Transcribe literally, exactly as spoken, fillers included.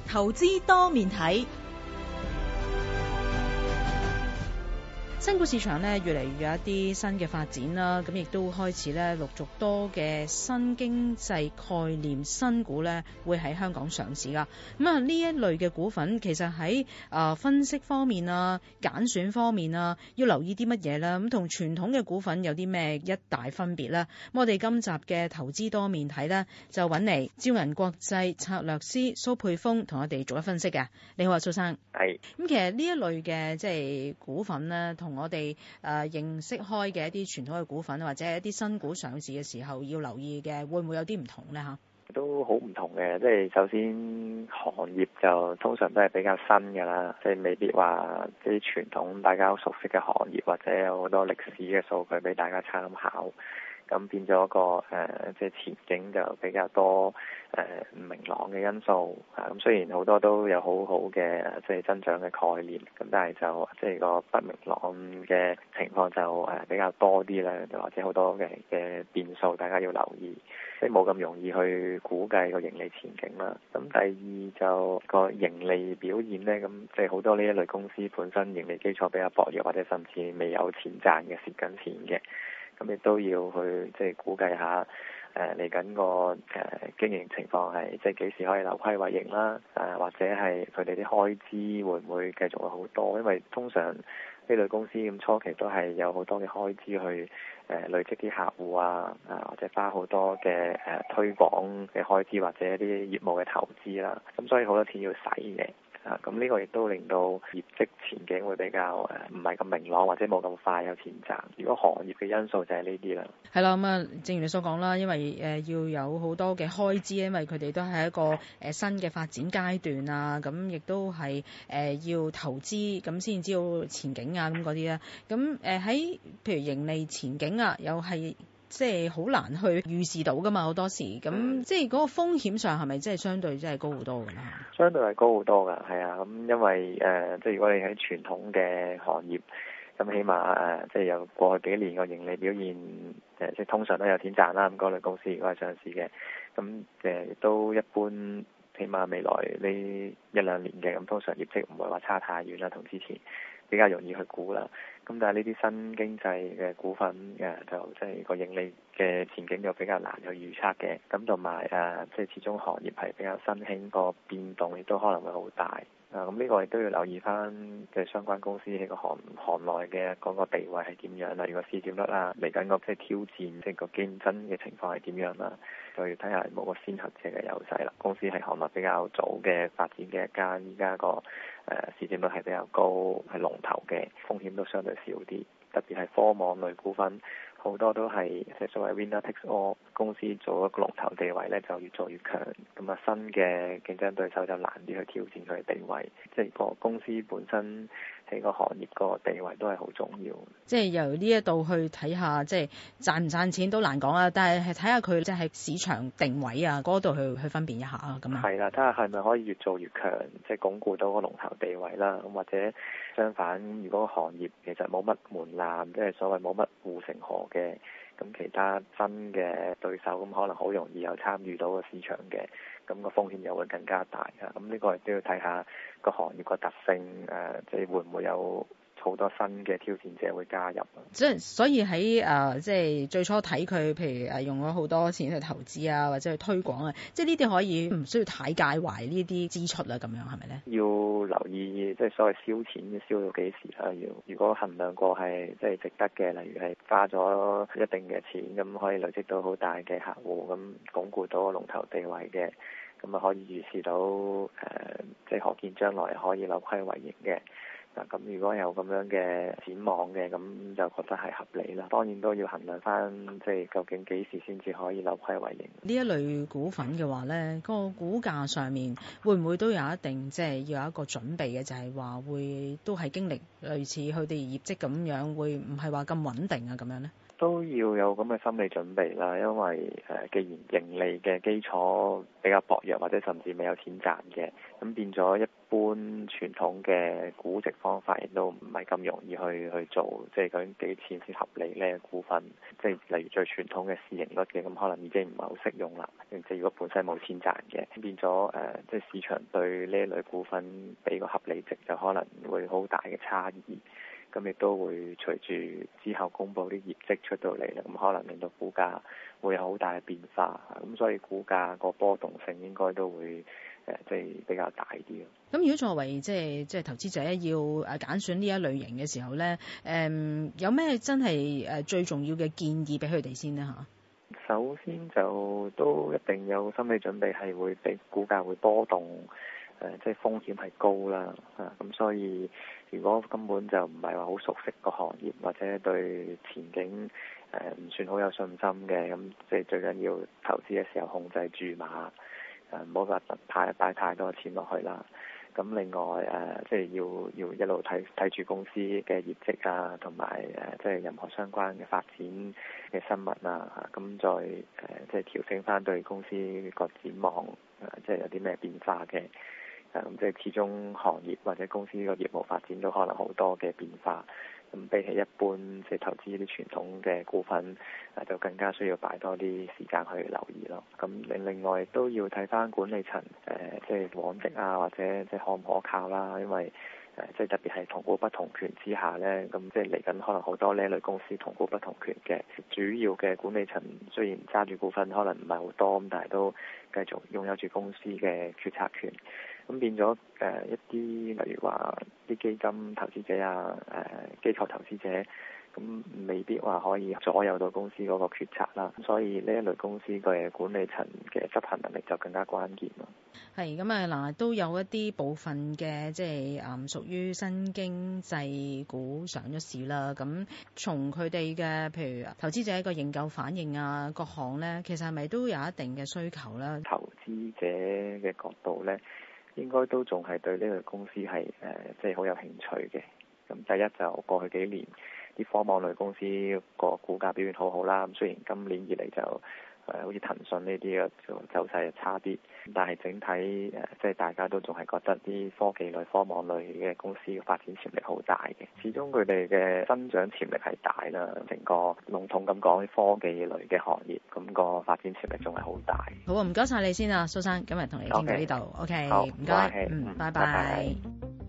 投資多面睇。新股市場咧越嚟越有一啲新嘅發展啦，咁亦都開始咧陸續多嘅新經濟概念新股咧會喺香港上市噶。咁啊呢一類嘅股份其實喺啊、呃、分析方面啊、揀選方面啊，要留意啲乜嘢啦？咁同傳統嘅股份有啲咩一大分別咧？咁我哋今集嘅投資多面睇咧，就揾嚟招銀國際策略師蘇沛豐同我哋做一分析嘅。你好啊，蘇生。 係。 咁其實呢一類嘅即係股份咧，同我哋誒、呃、認識開嘅一啲傳統嘅股份或者一啲新股上市嘅時候要留意嘅，會唔會有啲唔同咧嚇？ 都好唔同嘅，即係首先行業就通常都係比較新㗎啦，即係未必話啲傳統大家好熟悉嘅行業或者有好多歷史嘅數據俾大家參考。咁變咗個誒，即、呃、係前景就比較多誒唔、呃、明朗嘅因素啊。咁雖然好多都有好好嘅即係增長嘅概念，咁但係就即係個不明朗嘅情況就誒比較多啲啦，或者好多嘅嘅變數，大家要留意，即係冇咁容易去估計個盈利前景啦。咁第二就個盈利表現呢，咁即係好多呢一類公司本身盈利基礎比較薄弱，或者甚至未有錢賺嘅，蝕緊錢嘅。咁亦都要去即係估計下，誒嚟緊個誒經營情況係即係幾時可以扭虧為盈啦，誒、呃、或者係佢哋啲開支會唔會繼續會好多？因為通常呢類公司咁初期都係有好多嘅開支去誒、呃、累積啲客戶啊，啊或者花好多嘅誒、呃、推廣嘅開支或者一啲業務嘅投資啦，咁所以好多錢要使嘅。啊，咁呢個亦都令到業績前景會比較誒唔係咁明朗，或者冇咁快有錢賺。如果行業嘅因素就係呢啲啦。 係啦，咁啊，正如你所講啦，因為誒、呃、要有好多嘅開支，因為佢哋都係一個誒、呃、新嘅發展階段啊，咁亦都係誒、呃、要投資，咁先知道前景啊咁嗰啲啦。咁誒喺譬如盈利前景啊，又係。即係好難去預示到㗎嘛，好多時咁、嗯、即係嗰個風險上係咪即係相對真係高好多㗎啦？ 相對係高好多㗎，係啊，咁因為誒、呃，即係如果你喺傳統嘅行業，咁起碼誒、呃，即係有過去幾年個盈利表現，誒、呃，即係通常都有錢賺啦。咁嗰類公司如果係上市嘅，咁誒亦都一般，起碼未來呢一兩年嘅，咁通常業績唔會話差太遠啦，同之前比較容易去估啦。咁但係呢啲新經濟嘅股份誒，就即係個盈利嘅前景就比較難去預測嘅。咁同埋誒，即係始終行業係比較新興，個變動亦都可能會好大。啊，咁呢個亦都要留意翻嘅相關公司喺個行行內嘅嗰個地位係點樣啦，如果市佔率啦，嚟緊個即係挑戰，即係個競爭嘅情況係點樣啦，就要睇下有冇個先行者嘅優勢啦。公司係行內比較早嘅發展嘅一間，依家個誒市佔率係比較高，係龍頭嘅，風險都相對少啲，特別係科網類股份。好多都係即係所謂 winner takes all，公司做一個龍頭地位咧就越做越強，咁啊新嘅競爭對手就難啲去挑戰佢嘅地位，即係個公司本身喺個行業個地位都係好重要。 即係由呢一度去睇下，即係賺唔賺錢都難講啊，但係係睇下佢即係市場定位啊嗰度去去分辨一下啊咁啊。係啦，睇下係咪可以越做越強，即係鞏固到個龍頭地位啦。咁或者相反，如果行業其實冇乜門檻，即係所謂冇乜護城河嘅，咁其他新嘅對手咁可能好容易有參與到個市場嘅，咁個風險又會更加大啊！咁呢個亦都要睇下個行業個特性，誒，即係會唔會有好多新嘅挑戰者會加入。 即係所以喺誒、呃，即係最初睇佢，譬如誒用咗好多錢去投資啊，或者去推廣啊，即係呢啲可以唔需要太介懷呢啲支出啦，咁樣係咪咧？ 要留意即係所謂燒錢燒到幾時啦？要如果衡量過係即係值得嘅，例如係花咗一定嘅錢，咁可以累積到好大嘅客戶，咁鞏固到個龍頭地位嘅，咁啊可以預示到誒、呃，即係可見將來可以扭虧為盈嘅。嗱，咁如果有咁樣嘅展望嘅，咁就覺得係合理啦。當然都要衡量翻，即係究竟幾時先至可以扭虧為盈。 呢一類股份嘅話咧，個股價上面會唔會都有一定即係要有一個準備嘅，就係話會都係經歷類似佢哋業績咁樣，會唔係話咁穩定啊咁樣咧？ 都要有咁嘅心理準備啦，因為誒，既然盈利嘅基礎比較薄弱，或者甚至未有錢賺嘅，咁變咗一般傳統嘅估值方法亦都唔係咁容易去去做，即係究竟幾錢先合理呢？股份即係例如最傳統嘅市盈率嘅，咁可能已經唔係好適用啦。即係如果本身冇錢賺嘅，變咗誒、呃，即係市場對呢一類股份俾個合理值就可能會好大嘅差異。咁亦都會隨住之後公佈啲業績出到嚟啦，咁可能令到股價會有好大嘅變化，咁所以股價個波動性應該都會誒即係比較大啲咯。 咁如果作為即係即係投資者要誒揀選呢一類型嘅時候咧，誒、嗯、有咩真係誒最重要嘅建議俾佢哋先呢？嚇？ 首先就都一定有心理準備，係會俾股價會波動。誒、呃，即係風險係高啦，啊，咁所以如果根本就唔係話好熟悉個行業，或者對前景誒唔、呃、算好有信心嘅，咁即係最緊要投資嘅時候控制注碼，誒唔好話太擺太多錢落去啦。咁另外誒、呃，即係要要一路睇睇住公司嘅業績啊，同埋誒即係任何相關嘅發展嘅新聞啊，咁再誒、呃、即係調整翻對公司個展望，誒、呃、即係有啲咩變化嘅。咁即係始終行業或者公司個業務發展都可能好多嘅變化，咁比起一般即係投資啲傳統嘅股份，誒就更加需要擺多啲時間去留意咯。咁另另外都要睇翻管理層誒即係往績啊，或者即係可唔可靠啦，因為誒即係特別係同股不同權之下咧，咁即係嚟緊可能好多呢類公司同股不同權嘅主要嘅管理層，雖然揸住股份可能唔係好多，咁但係都繼續擁有住公司嘅決策權。咁變咗誒、呃、一啲例如話啲基金投資者啊，誒、呃、機構投資者，咁未必話可以左右到公司嗰個決策啦。所以呢一類公司嘅管理層嘅執行能力就更加關鍵咯。 係咁啊嗱，都有一啲部分嘅即係誒屬於新經濟股上咗市啦。咁從佢哋嘅譬如投資者個認購反應啊，各項咧，其實係咪都有一定嘅需求咧？ 投資者嘅角度咧，應該都仲係對呢類公司係誒即係好有興趣嘅。咁第一就過去幾年啲科網類公司個股價表現好好啦。咁雖然今年以嚟就誒、呃、好似騰訊呢啲嘅就走勢差啲，但係整體誒即係大家都仲係覺得啲科技類、科網類嘅公司嘅發展潛力好大嘅。始終佢哋嘅增長潛力係大啦。成個籠統咁講，科技類嘅行業咁、那個發展潛力仲係好大。 好啊，唔該晒你先啊，蘇生，今日同你傾到呢度。OK，唔該，嗯，拜拜。